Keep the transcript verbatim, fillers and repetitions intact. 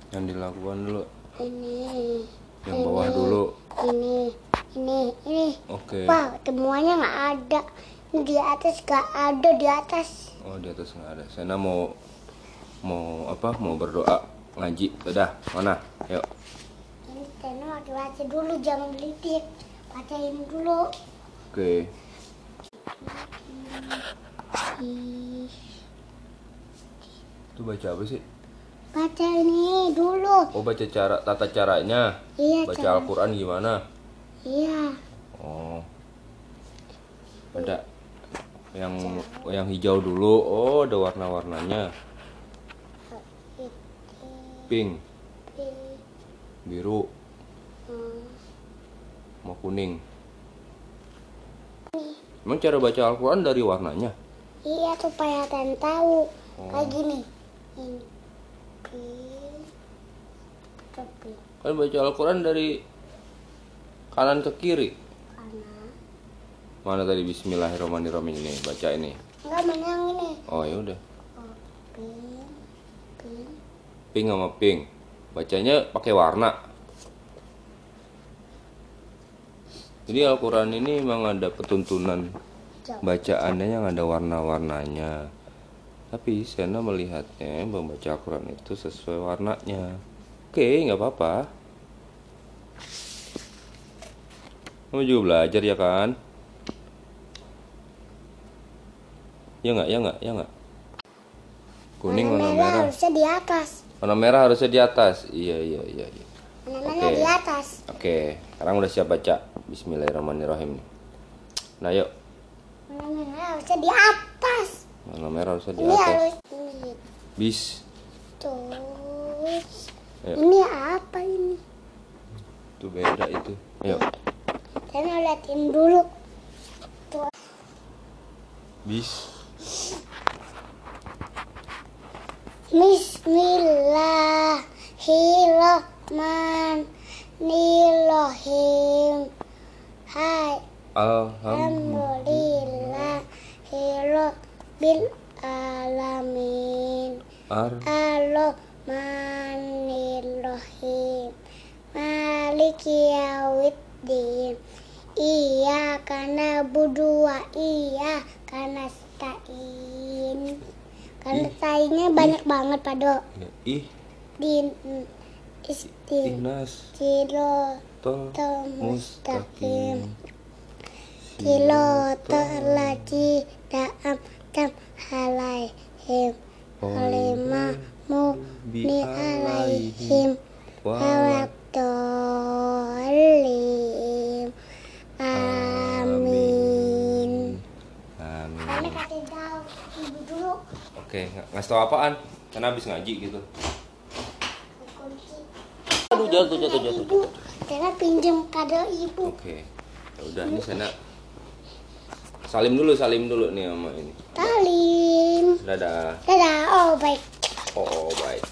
Yang dilakukan dulu. Ini. Yang ini, bawah dulu. Ini, ini, ini. Oke. Wah, semuanya nggak ada. Di atas nggak ada di atas. Oh, di atas nggak ada. Sena mau mau apa? Mau berdoa ngaji. Udah, mana? Yuk. Ini Sena mau baca dulu, jangan belitik. Bacain dulu. Oke. Ih, Itu baca apa sih? baca ini dulu. Oh, baca cara tata caranya. Iya, Baca cara- Al-Qur'an gimana? Iya. Oh. Ada yang yang hijau dulu. Oh, ada warna-warnanya. Pink, biru, Hmm. sama kuning. Emang cara baca Al-Qur'an dari warnanya? Iya, supaya kalian tahu. Oh. Kayak gini. Ini. Pink. Tapi Kan baca Al-Qur'an dari kanan ke kiri. karena Mana tadi Bismillahirrahmanirrahim ini? Baca ini. enggak mana yang ini. Oh, ya udah. Oh, pink. Pink. Pink sama pink. Bacanya pakai warna. Jadi Al-Qur'an ini memang ada petuntunan bacaannya yang ada warna-warnanya. Tapi Sena melihatnya membaca Al-Quran itu sesuai warnanya. Oke, nggak apa-apa. Kamu juga belajar ya kan? Ya nggak, ya nggak, ya nggak. Kuning warna merah. Harusnya di atas. Warna merah harusnya di atas. Iya, iya, iya. iya. Warna merah Oke. di atas. Oke, sekarang udah siap baca. Bismillahirrahmanirrahim. Nah, yuk. Warna merah harusnya di atas. Warna merah harusnya di Ini atas. harus ini. Bis. Terus. Ayo. Ini apa ini? Itu beda itu. Ayo. Saya mau liatin dulu. Tuh. Bis. Bismillahirrahmanirrahim. Hai. Alhamdulillah. Alhamdulillahirabbil alamin. Ar. Ar-Rahmanirrahim. Maliki yaumiddin. Iyyaka na'budu wa iyyaka nasta'in. Karena saingnya banyak banget Pado. Ya, ih. Din istin Inas. Siro Tol. mustaqim. Kilo terlaci daam tam halaihim. Halimah mubni alaihim. Wawakdolim. Amin. Amin. Kami kasih tahu ibu dulu. Oke, ng- ngasih tau apaan? Kan habis ngaji gitu. Kunci. Aduh, jatuh, jatuh, jatuh. Ibu, karena pinjam kado ibu. Oke. Ya udah, ini Sena salim dulu, salim dulu nih sama ini. Salim. Dadah. Dadah. Oh baik. Oh, baik.